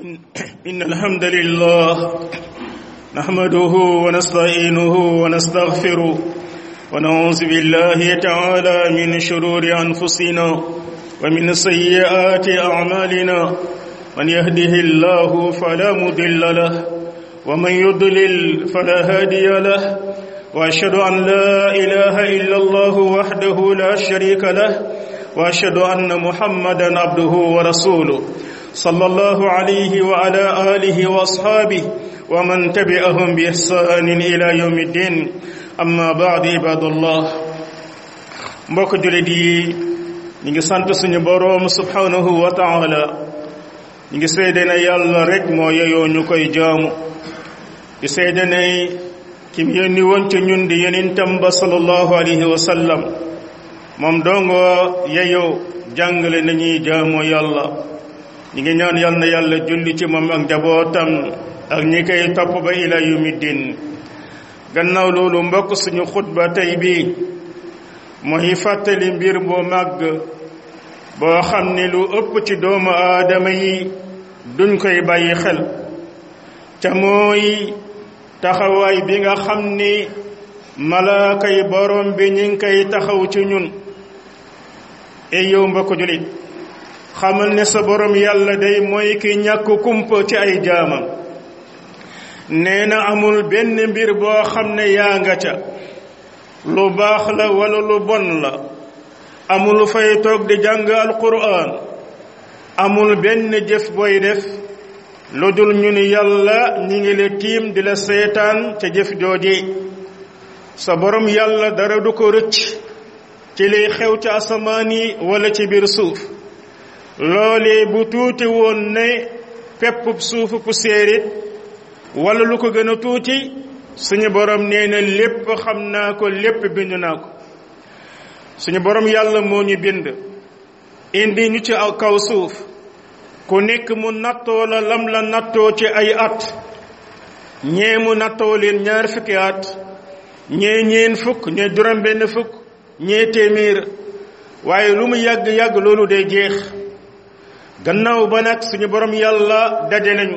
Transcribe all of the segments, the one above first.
إن الحمد لله نحمده ونستعينه ونستغفره ونعوذ بالله تعالى من شرور أنفسنا ومن سيئات أعمالنا من يهده الله فلا مضل له ومن يضلل فلا هادي له وأشهد أن لا إله إلا الله وحده لا شريك له وأشهد أن محمدا عبده ورسوله صلى الله عليه وعلى آله وأصحابه ومن تبعهم بإحسان إلى يوم الدين أما بعد عباد الله mbokk jullit yi ñu ngi sant suñu boroom subhanahu wa ta'ala ñu ngi seede ne yàlla rek moo yeyoo ñu koy jaamu di seede ne kim yónni woon ci ñun di yonentam ba sallallahu alayhi wa sallam moom dongo yeyoo jàngale nañuy jaamoo yàlla ñi ngi ñaan yal na yàlla julli ci moom ak njabootam ak ñi koy topp ba ila yawmiddin gannaaw loolu mbokk suñu xutba tey bi mooy fàttali mbir boo màgg boo xam ne lu ëpp ci doomu aadama yi duñ koy bàyyi xel ca mooy taxawaay bi nga xam ni malaaka yi borom bi ñi ngi koy taxaw ci ñun ey yow mbokk julit xamal ne sa borom yàlla day mooy ki ñàkk kumpa ci ay jaamam nee na amul benn mbir boo xam ne yaa nga ca lu baax la wala lu bon la amul fay toog di jàng alquran amul benn jëf booy def lu dul ñu ni yàlla ñi ngi la tiim di la seetaan ca jëf jooje sa borom yàlla dara du ko rëcc ci liy xew ci asamaan yi wala ci biir suuf loolee bu tuuti woon ne pepp suufu poussière it wala lu ko gën a tuuti suñu borom nee na lépp xam naa ko lépp bind naa ko suñu borom yàlla moo ñu bind indi ñu ci kaw suuf ku nekk mu nattoo la lam la nattoo ci ay at ñee mu nattoo leen 20 fukki at ñee ñeen fukk ñee juróom benn fukk ñee téeméer waaye lu mu yàgg-yàgg loolu day jeex gannaaw ba nag suñu borom yàlla daje nañu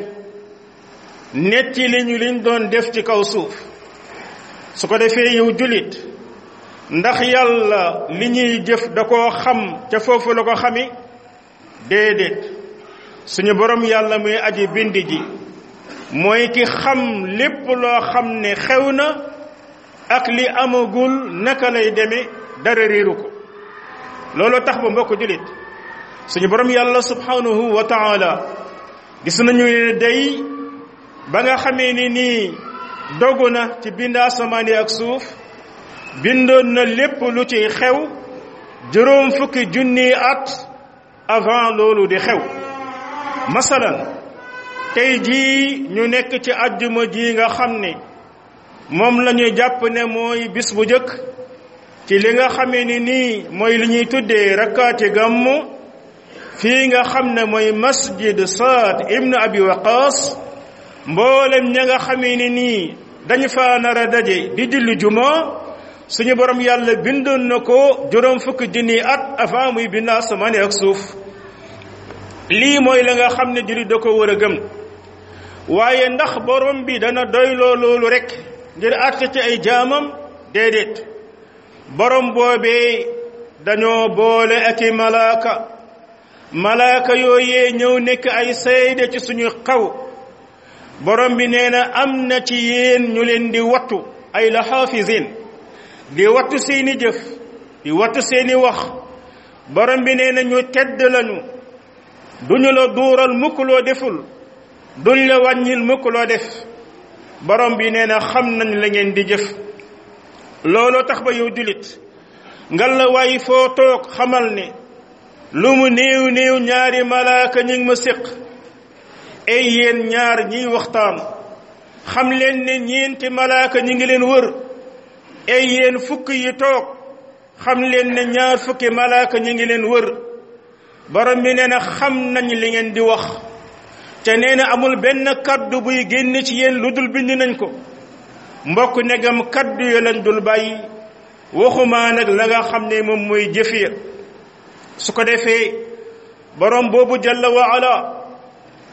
netti li ñu liñ doon def ci kaw suuf su ko defee yow jullit ndax yàlla li ñuy jëf da koo xam ca foofu la ko xami déedéet suñu borom yàlla muy aji bind ji mooy ki xam lépp loo xam ne xew na ak li amagul naka lay demee dara réeru ko loolu tax ba mbokk jullit suñu borom yàlla subhanahu wa ta'ala gis nañu ne day ba nga xamee ni nii dogu na ci bind asamaan yi ak suuf bindoon na lépp lu ci xew 20,000 at avant loolu di xew masalan tey jii ñu nekk ci àjjuma ji nga xam ne moom la ñu jàpp ne mooy bis bu jëkk ci li nga xamee ni nii mooy li ñuy tuddee rakkaati gàmmu fii nga xam ne mooy masjid Saad ibn Abi Waqaas mboolem ña nga xamee ni nii dañu fa nar a daje di julli juma suñu borom yàlla bindoon na ko 20,000 at avant muy bind asamaan ak suuf lii mooy la nga xam ne jullit da ko war a gëm waaye ndax borom bi dana doyloo loolu rek ngir àtte ci ay jaamam déedéet borom boobee dañoo boole ak i malaaka yooyee ñëw nekk ay seede ci suñu xaw borom bi nee na am na ci yéen ñu leen di wattu ay la xaafisin di wattu seeni jëf di wattu seeni wax borom bi nee na ñu tedd lañu duñu la duural mukk loo deful duñ la wàññil mukk loo def borom bi nee na xam nañ la ngeen di jëf looloo tax ba yow julit ngal la waay foo toog xamal ne lu mu néew néew ñaari malaaka ñi ngi ma séq ay yéen ñaar ñiy waxtaan xam leen ne ñeenti malaaka ñi ngi leen wër ay yéen fukk yi toog xam leen ne ñaar fukki malaaka ñi ngi leen wër borom bi nee na xam nañ li ngeen di wax te nee na amul benn kaddu buy génn ci yéen lu dul bind nañ ko mbokk negam kaddu yo lañ dul bàyyi waxuma nag la nga xam ne moom mooy jëf ya su ko defee borom boobu jalla wa ala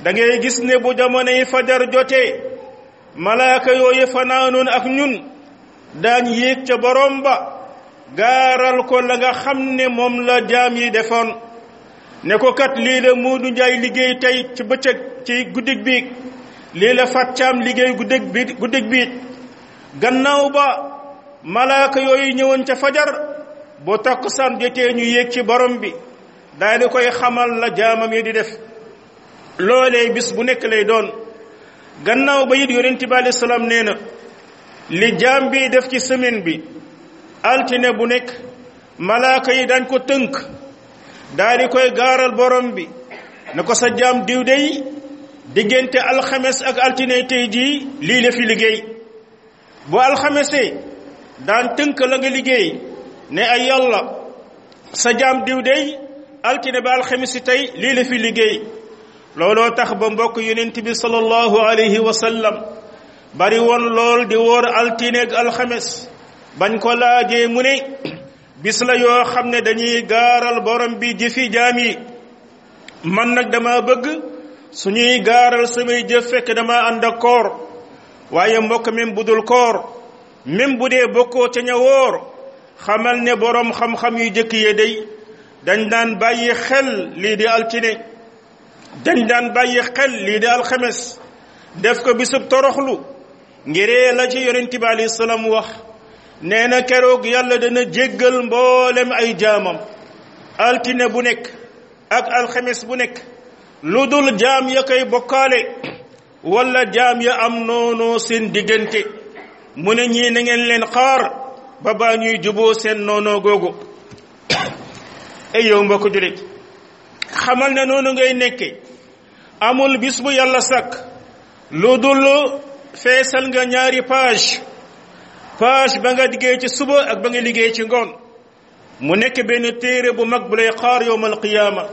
da ngay gis ne bu jamonoy fajar jotee malaaka yooyu fanaanoon ak ñun daañ yéeg ca borom ba gaaral ko la nga xam ne moom la jaam yi defoon ne ko kat lii la Muudu Njaay liggéey tey ci bëccëg ci guddig biig lii la Fat Caam liggéey guddig biig gannaaw ba malaaka yooyu ñëwoon ca fajar boo takkusaan jotee ñu yéeg ci borom bi daal di koy xamal la jaamam yi di def loolee bis bu nekk lay doon gannaaw ba it yonent bi alayhi salaam nee na li jaam bi def ci semaine bi altine bu nekk malaaka yi dañ ko tënk daal di koy gaaral borom bi ne ko sa jaam diw dey diggante alxames ak altine tey jii lii la fi liggéey bu alxamesee daan tënk la nga liggéey ne ay yàlla sa jaam diw dey altine ba alxames tey lii la fi liggéey looloo tax ba mbokk yonent bi sallallahu alayhi wa sallam bari woon lool di woor altine ak alxames bañ ko laajee mu ne bis la yoo xam ne dañuy gaaral borom bi jëfi jaam yi man nag dama bëgg suñuy gaaral samay jëf fekk dama ànd ak koor waaye mbokk même bu dul koor même bu dee bokkoo ca ña woor xamal ne borom xam-xam yu jëkk yee day dañ daan bàyyi xel lii di altine dañ daan bàyyi xel lii di alxames def ko bisub toroxlu ngiree la ci yonent bi alayhi salaam wax nee na keroog yàlla dana jéggal mboolem ay jaamam altine bu nekk ak alxames bu nekk lu dul jaam ya koy bokkaale wala jaam ya am noonoo seen diggante mu ne ñii na ngeen leen xaar ba baa ñuy juboo seen noonoo googu ay yow mbokk julit xamal ne noonu ngay nekke amul bis bu yàlla sàkk lu dul feesal nga ñaari page ba nga liggéey ci suba ak ba nga liggéey ci ngoon mu nekk benn téere bu mag bu lay xaar yowmal qiyaama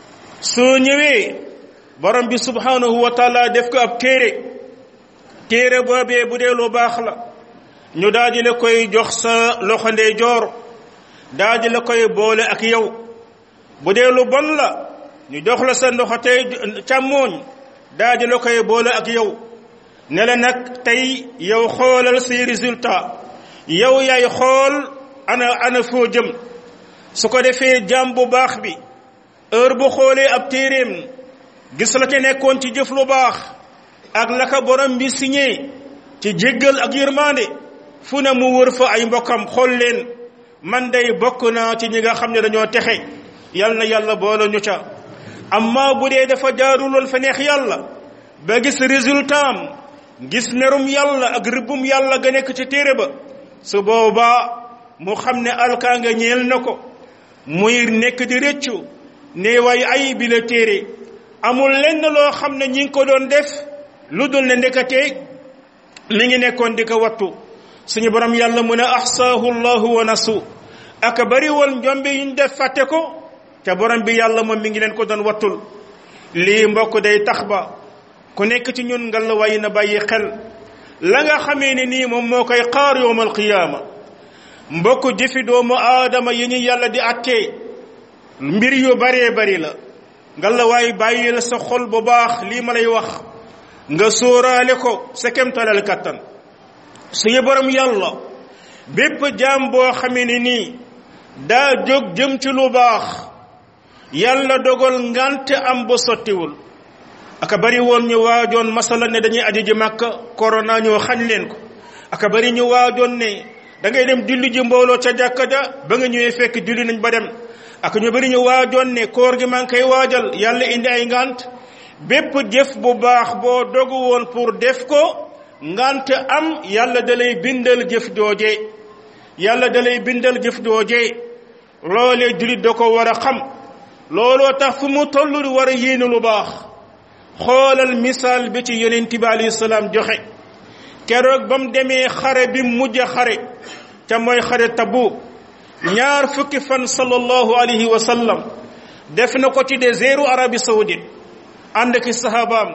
soo ñëwee borom bi subhanahu wa taala def ko ab téere boobee bu dee lu baax la ñu daal di la koy jox sa loxo ndeyjoor daal di la koy boole ak yow bu dee lu bon la ñu jox la sa loxo tey càmmooñ daal di la koy boole ak yow ne la nag tey yow xoolal say résultat yow yaay xool ana foo jëm su ko defee jaam bu baax bi heure bu xoolee ab téeréem gis la ca nekkoon ci jëf lu baax ak la ka borom bi signé ci jéggal ak yërmande fu ne mu wër fa ay mbokkam xool leen man day bokk naa ci ñi nga xam ne dañoo texe yal na yàlla boole ñu ca amma bu dee dafa jaaruloon fa neex yàlla ba gis résultat am gis merum yàlla ak rëbbum yàlla ga nekk ci téere ba su boobaa mu xam ne alkaa nga ñeel na ko muy nekk di rëccu ne way ay bi la téere amul lenn loo xam ne ñi ngi ko doon def lu dul ne ndekatee mi ngi nekkoon di ko wattu suñu borom yàlla mu ne ahsaahu llahu wa nasu aka bari woon njombe yuñ def fàtte ko te borom bi yàlla moom mi ngi leen ko doon wattul lii mbokk day tax ba ku nekk ci ñun ngal la way na bàyyi xel la nga xamee ne nii moom moo koy xaar yowmal qiyaama mbokk jëfi doomu aadama yi ñu yàlla di attee mbir yu baree bari la ngal la waay bàyyi la sa xol bu baax lii ma lay wax nga sóoraale ko sa kemtalal kattan suñu borom yàlla bépp jaam boo xamee ne nii daa jóg jëm ci lu baax yàlla dogal ngante am ba sottiwul aka bari woon ñu waajoon masala ne dañuy aji ji Makka corona ñoo xañ leen ko aka bari ñu waajoon ne da ngay dem julli ji mbooloo ca jàkka ja ba nga ñëwee fekk julli nañ ba dem ak ñu bari ñu waajoon ne koor gi maa ngi koy waajal yàlla indi ay ngant bépp jëf bu baax boo dogu woon pour def ko ngant am yàlla da lay bindal jëf jooje yàlla da lay bindal jëf jooje loolee jullit da ko war a xam looloo tax fu mu toll di war a yéene lu baax xoolal misaal bi ci yonent bi alayhi salaam joxe keroog ba mu demee xare bi mujj xare ca mooy xare Tabuk ñaar fukki fan sallallahu alayhi wa sallam def na ko ci désertu Arabie Saoudite ànd ki sahabaam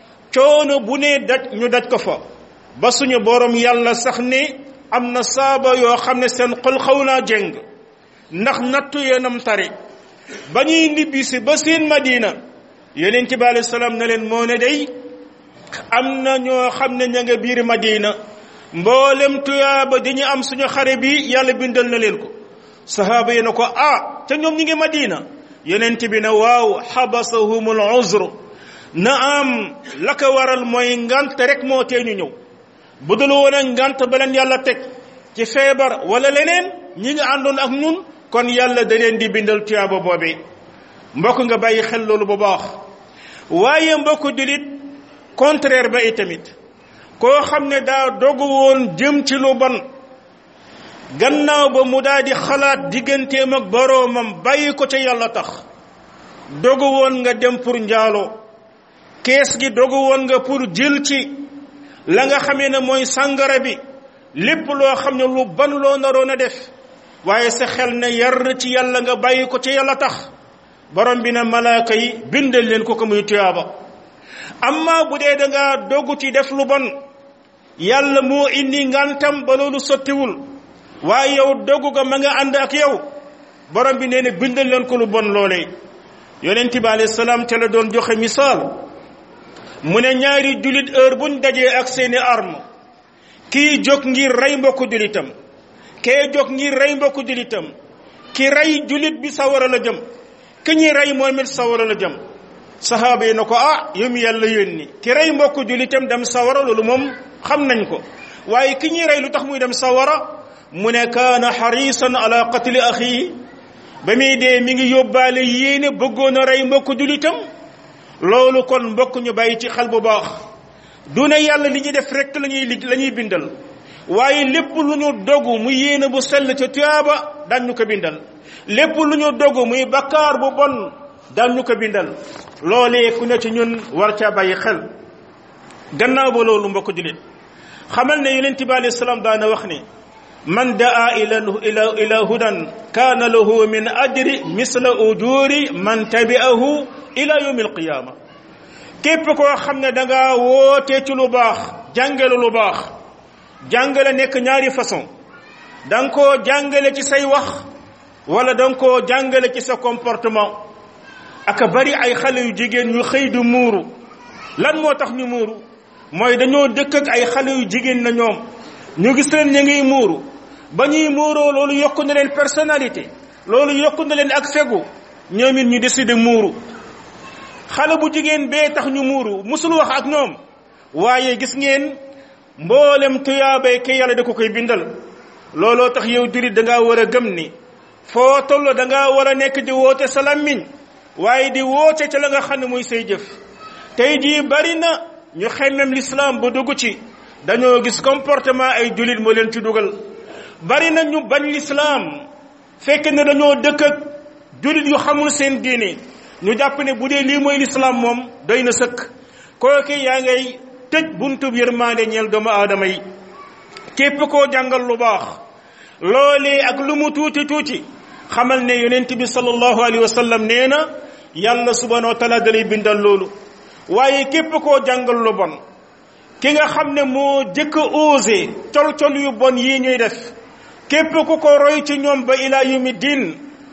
coono bu ne daj ñu daj ko fa ba suñu borom yàlla sax ne am na saaba yoo xam ne seen xol xaw naa jeng ndax nattu yeenam tari ba ñuy nibbisi ba seen Madina yonent bi alayhi salaam ne leen moo ne day am na ñoo xam ne ña nga biir Madina mboolem tuyaaba dañu am suñu xare bi yàlla bindal na leen ko sahaaba yi na ko te ñoom ñi ngi Madina yonent bi ne waaw xabasahumul uzr na am la ko waral mooy ngant rek moo tee ñu ñëw bu dul woon ngant ba leen yàlla teg ci feebar wala leneen ñi nga àndoon ak ñun kon yàlla da leen di bindal tuyaaba boobee mbokk nga bàyyi xel loolu bu baax waaye mbokk dilit contraire ba itamit koo xam ne daa dogu woon jëm ci lu bon gannaaw ba mu daal di xalaat digganteem ak boroomam bàyyi ko ca yàlla tax dogu woon nga dem pour njaaloo kees gi dogu woon nga pour jël ci la nga xamee ne mooy sàngara bi lépp loo xam ne lu ban loo naroon a def waaye sa xel ne yar ci yàlla nga bàyyi ko ca yàlla tax borom bi na malaaka yi bindal leen ko muy tuyaaba amma bu dee da nga dogu ci def lu bon yàlla moo indi ngantam ba loolu sottiwul waaye yow dogu ga ma nga ànd ak yow borom bi nee na bindal leen ko lu bon loolee yonent bi alayhi salaam te la doon joxe misaal mu ne ñaari julit heure buñ dajee ak seeni arme kii jóg ngir rey mbokku julitam kee jóg ngir rey mbokku julitam ki rey julit bi sawara la jëm ki ñuy rey moom it sawara la jëm sahaaba yi na ko yow mi yàlla yónni ki rey mbokku julitam dem sawara loolu moom xam nañ ko waaye ki ñuy rey lu tax muy dem sawara mu ne kaana xarisan ala qatli axi ba muy dee mi ngi yóbbaale yéene bëggoon a rey mbokku julitam loolu kon mbokk ñu bàyyi ci xel bu baax du ne yàlla li ñuy def rek la ñuy bindal waaye lépp lu ñu dogu mu yéene bu sell ca tuyaaba daan ñu ko bindal lépp lu ñu dogu muy bakkaar bu bon daan ñu ko bindal loolee ku ne ci ñun war caa bàyyi xel gannaaw ba loolu mbokk julit xamal ne yonent bi alayhi salaam daana wax ne man daa ila hudan kaana lahu min ajri misla ujuri man tabi'ahu ila yawmi alqiyama képp koo xam ne da nga woote ci lu baax jàngale lu baax jàngale nekk ñaari façon da nga koo jàngale ci say wax wala da nga koo jàngale ci sa comportement aka bari ay xale yu jigéen yu xëy du muuru lan moo tax ñu muuru mooy dañoo dëkk ak ay xale yu jigéen na ñoom ñu gis leen ñu ngi muuru ba ñuy muuroo loolu yokku na leen personnalité loolu yokku na leen ak fegu ñoom it ñu décidé muuru xale bu jigéen bee tax ñu muuru musul wax ak ñoom waaye gis ngeen mboolem tuyaabay ke yàlla da ko koy bindal looloo tax yow jurit da ngaa war a gëm ni foo toll da ngaa war a nekk di woote sa làmmiñ waaye di woote ca la nga xam ne muy say jëf tey jii bari na ñu xemmem l'islam ba dugg ci dañoo gis comportement ay julit moo leen ci dugal bari na ñu bañ l'islam fekk ne dañoo dëkk ak julit yu xamul seen diine ñu jàpp ne bu dee lii mooy l'islam moom doy na sëkk kooku yaa ngay tëj buntu yërmande ñeel doomu aadama yi képp koo jàngal lu baax loolee ak lu mu tuuti tuuti xamal ne yonent bi sallallahu alayhi wa sallam nee na yàlla subhanahu wa taala dalay bindal loolu waaye képp koo jàngal lu bon ki nga xam ne moo jëkk osé col yu bon yii ñuy def képp ku ko roy ci ñoom ba ila yawmi diin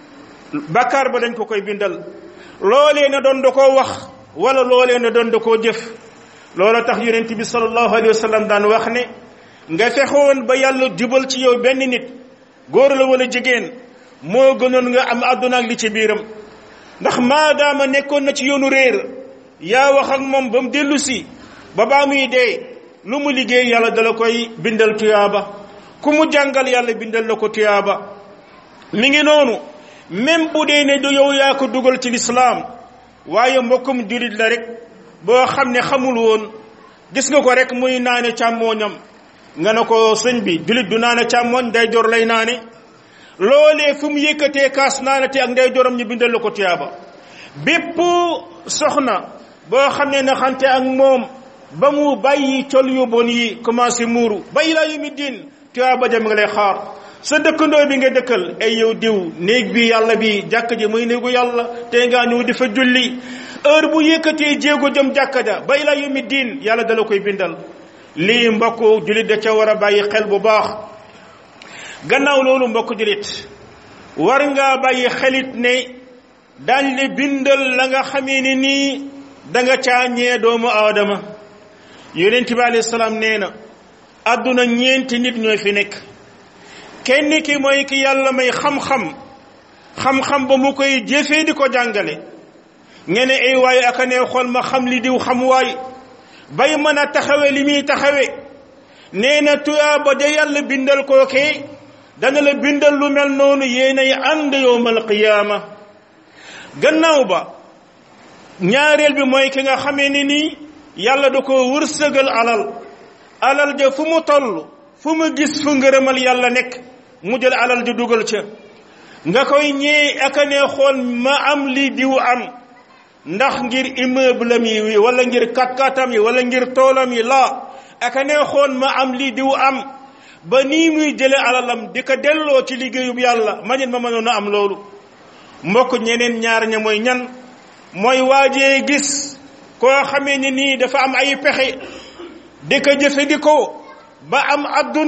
bakkaar ba dañ ko koy bindal loolee na doon da koo wax wala loolee na doon da koo jëf loola tax yonent bi sallallahu alayhi wa sallam daan wax ne nga fexoon ba yàlla jubal ci yow benn nit góor la wala jigéen moo gënoon nga am àdduna ak li ci biiram ndax maadaama nekkoon na ci yoonu réer yaa wax ak moom ba mu dellu si ba baa muy dee lu mu liggéey yàlla dala koy bindal tuyaaba ku mu jàngal yàlla bindal la ko tuyaaba mi ngi noonu même bu dee ne du yow yaa ko dugal ci lislaam waaye mbokkum julit la rek boo xam ne xamul woon gis nga ko rek muy naane càmmooñam nga ne ko sëñ bi julit du naane càmmooñ ndeyjoor lay naane loolee fu mu yëkkatee kaas naanate ak ndeyjooram ñu bindal la ko tuyaaba bépp soxna boo xam ne naxante ak moom ba mu bàyyi col yu bon yi commencé muuru ba ilaa yawmi diin tuyaaba jam nga lay xaar sa dëkkandoo bi nga dëkkal ay yow diw néeg bi yàlla bi jàkk ji muy néegu yàlla te ngaa ñëw di fa julli heure bu yëkkatee jéego jëm jàkka ja ba ilaa yawmi diin yàlla dala koy bindal lii mbokk julit da ca war a bàyyi xel bu baax gannaaw loolu mbokk julit war ngaa bàyyi xelit ne daañ le bindal la nga xamee ne nii da nga caa ñee doomu aadama. yonent bi alayhi salaam nee na àdduna ñeenti nit ñooy fi nekk. kenn ki mooy ki yàlla may xam-xam ba mu koy jëfee di ko jàngale. ngeen ne ay waaye aka ne xool ma xam li diw xam waay bay mën a taxawe li muy taxawe. nee na tuyaaba de yàlla bindal kookee dana la bindal lu mel noonu yéenay ànd yowmal qiyaama. gannaaw ba ñaareel bi mooy ki nga xamee ni nii yàlla da ko wërsëgal alal ja fu mu toll fu mu gis fu ngërëmal yàlla nekk mu jël alal ja dugal ca. nga koy ñee aka ne xool ma am li diw am ndax ngir immeuble am yi wala ngir kat-katam yi wala ngir toolam yi la aka ne xool ma am li diw am ba nii muy jële alalam di ko delloo ci liggéeyub yàlla ma mënoon a am loolu. mbokk ñeneen ñaar ña mooy ñan mooy waajee gis koo xamee ni nii dafa am ay pexe di ko jëfandikoo ba am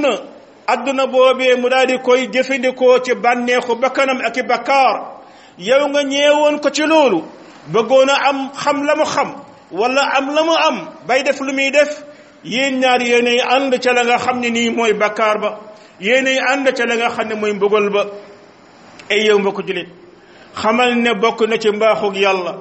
adduna boobee mu daal di koy jëfandikoo ci bànneexu bakkanam ak i bakkaar. yow nga ñeewoon ko ci loolu bëggoon a am xam la mu xam wala am la mu am bay def lu muy def. yéen ñaar yéenay ànd ca la nga xam ne nii mooy bakkaar ba yéenay ànd ca la nga xam ne mooy mbugal ba. ay yow mbokk julit xamal ne bokk na ci mbaaxug yàlla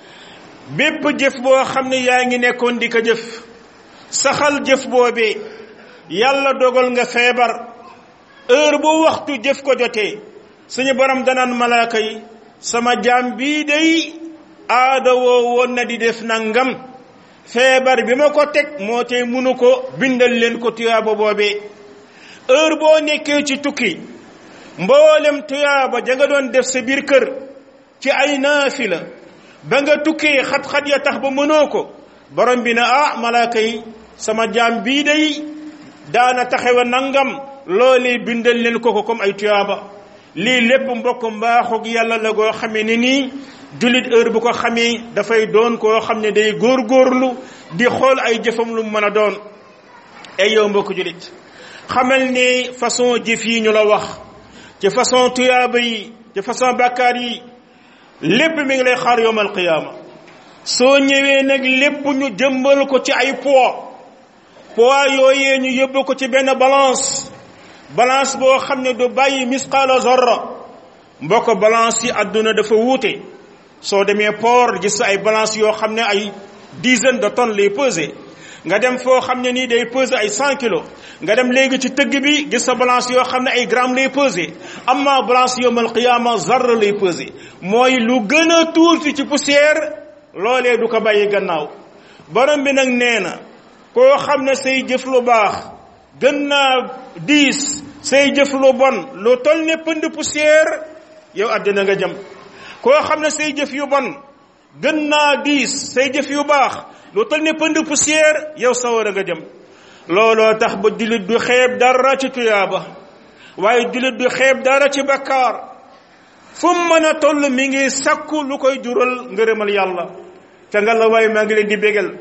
bépp jëf boo xam ne yaa ngi nekkoon di ko jëf saxal jëf boobee yàlla dogal nga feebar heure bu waxtu jëf ko jotee suñu borom danaan malaaka yi sama jaam bii day aada woo woon na di def nangam feebar bi ma ko teg moo tey munu ko bindal leen ko tuyaaba boobee. heure boo nekkee ci tukki mboolem tuyaaba ja nga doon def sa biir kër ci ay naafila ba nga tukkee xat-xat ya tax ba mënoo ko borom bi na malaaka yi sama jaam bii day daana taxawa nangam loolee bindal leen ko comme ay tuyaaba. lii lépp mbokk mbaaxug yàlla la goo xamee ni nii jullit heure bu ko xamee dafay doon koo xam ne day góorgóorlu di xool ay jëfam lu mën a doon. ay yow mbokk jullit xamal ne façon jëf yi ñu la wax ci façon tuyaaba yi ci façon bàkkaar yi lépp mi ngi lay xaar yawmal qiyaama. soo ñëwee nag lépp ñu jëmbal ko ci ay poids yooyee ñu yóbbu ko ci benn balance boo xam ne du bàyyi misqaala zarra. mbokk balance yi àdduna dafa wuute. soo demee port gis ay balance yoo xam ne ay dizaine de tonnes lay peser nga dem foo xam ne nii day peser ay 100 kilos nga dem léegi ci tëgg bi gis sa balance yoo xam ne ay grammes lay peser. amma balance yawmal qiyaama zarra lay peser mooy lu gën a tuuti ci poussière loolee du ko bàyyi gannaaw. borom bi nag nee na koo xam ne say jëf lu baax gën naa diis say jëf lu bon lu toll ne pënd poussière yow àddina nga jëm. koo xam ne say jëf yu bon gën naa diis say jëf yu baax lu toll ne pënd poussière yow sawara nga jëm. looloo tax ba jullit du xeeb dara ci tuyaaba waaye jullit du xeeb dara ci bakkaar. fu mu mën a toll mi ngi sakku lu koy jural ngërëmal yàlla. ca nga la waaye maa ngi leen di bégal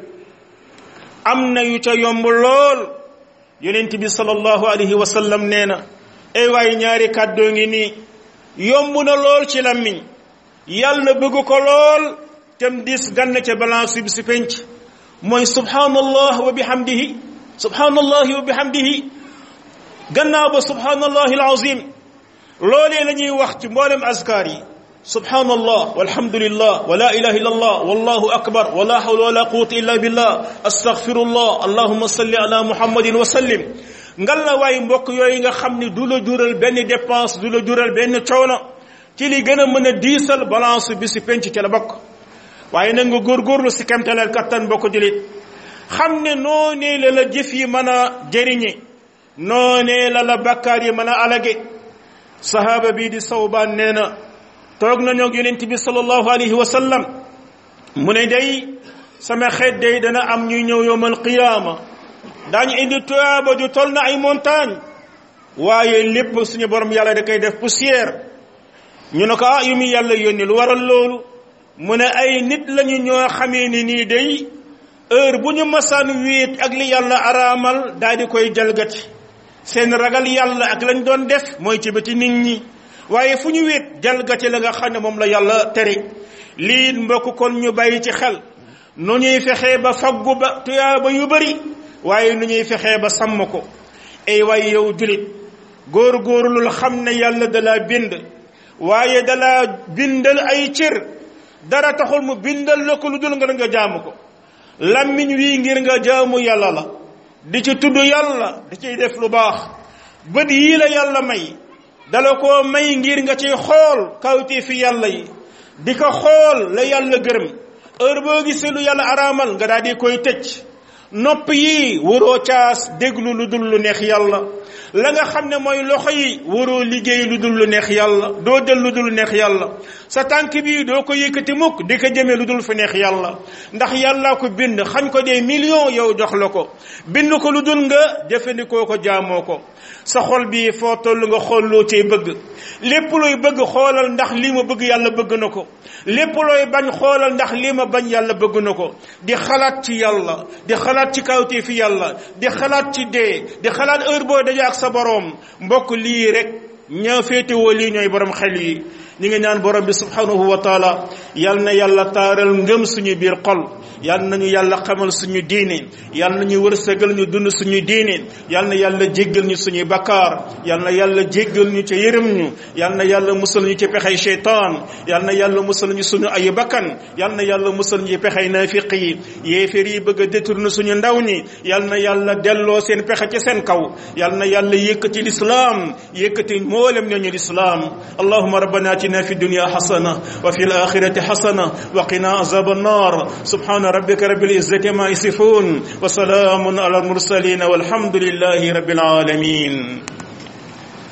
am na yu ca yomb lool. yonent bi sallallahu alayhi wa sallam nee na ay waaye ñaari kàddoo ngi nii yomb na lool ci làmmiñ yàlla bëgg ko lool tem dis gann ca balance bi si penc mooy subhanallah wa bihamdihi subhanallahi wa bihamdihi gannaaw ba subhanallahi alazim loolee la ñuy wax ci mboolem azkar yi. subhanallah walhamdulillah wa la ilaha illallah wallahu akbar wa la hawla wa la quwwata illa billah astaghfirullah allahumma salli ala muhammadin wa sallim. ngal la waay mbokk yooyu nga xam ne du la jural benn dépense du la jural benn coono ci li gën a mën a diisal balance bi si penc ci la bokk. waaye nag nga góorgóorlu si kemtaleel kattan bokk julit xam ne noonee la jëf yi mën a jëriñe noonee la bakkaar yi mën a alage. sahaaba bii di Sawbaan nee na toog nañu ak yonent bi sallallahu alayhi wa sallam mu ne day sama xeet day dana am ñuy ñëw yawmal qiyaama daañu indi tuyaaba ju toll na ay montagne waaye lépp suñu borom yàlla da koy def poussière. ñu ne ko yu mu yàlla yónni lu waral loolu mu ne ay nit lañu ñoo xamee ni nii day heure bu ñu masaan wéet ak li yàlla araamal daal di koy jalgati. seen ragal yàlla ak lañ doon def mooy ci bëti nit ñi waaye fu ñu wéet jalgati la nga xam ne moom la yàlla tere. lii mbokk kon ñu bàyyi ci xel nu ñuy fexee ba faggu ba tuyaaba yu bari waaye nu ñuy fexee ba sàmm ko. ay waay yow julit góor-góorlul xam ne yàlla dalaa bind waaye dalaa bindal ay cër dara taxul mu bindal la ko lu dul nga jaamu ko. làmmiñ wi ngir nga jaamu yàlla la, di ci tudd yàlla, di ciy def lu baax. bët yii la yàlla may dala koo may ngir nga ciy xool kawti fi yàlla yi, di ko xool la yàlla gërëm. heure boo gisee lu yàlla araamal nga daal di koy tëj. nopp yi waroo caas déglu lu dul lu neex yàlla. la nga xam ne mooy loxo yi waroo liggéey lu dul lu neex yàlla, doo jël lu dul lu neex yàlla. sa tànk bi doo ko yëkkati mukk di ko jëmee lu dul fu neex yàlla, ndax yàlla ko bind xañ ko des millions yow jox la ko, bind ko lu dul nga jëfandikoo ko jaamoo ko. sa xol bi foo toll nga xool loo cay bëgg. lépp looy bëgg xoolal ndax lii ma bëgg yàlla bëgg na ko, lépp looy bañ xoolal ndax lii ma bañ yàlla bëgg na ko. di xalaat ci yàlla, di xalaat ci kawtee fi yàlla, di xalaat ci dee, di xalaat heure boo daje ak sa boroom. mbokk lii rek ñaa féetewoo lii ñooy borom xel yi. ñi ngi ñaan borom bi subhanahu wa taala yal na yàlla taaral ngëm suñu biir xol, yal nañu yàlla xamal suñu diine, yal nañu wërsëgal ñu dund suñu diine, yal na yàlla jéggal ñu suñuy bakkaar, yal na yàlla jéggal ñu ca yërëm ñu, yal na yàlla musal ñu ci pexey sheytaan, yal na yàlla musal ñu suñu ay bakkan, yal na yàlla musal ñu ci pexey naafiq yi. yéeféer yi bëgg a détourner suñu ndaw ñi, yal na yàlla delloo seen pexe ci seen kaw, yal na yàlla yëkkati lislaam, yëkkati mboolem ñooñu lislaam. allahumma rabbana atina fi dunya hasana wa fil akhirati hasana wa qina azaban nar. subhana rabbika rabbil izzati ma yasifun wa salamun ala al mursalin walhamdulillahi rabbil alamin.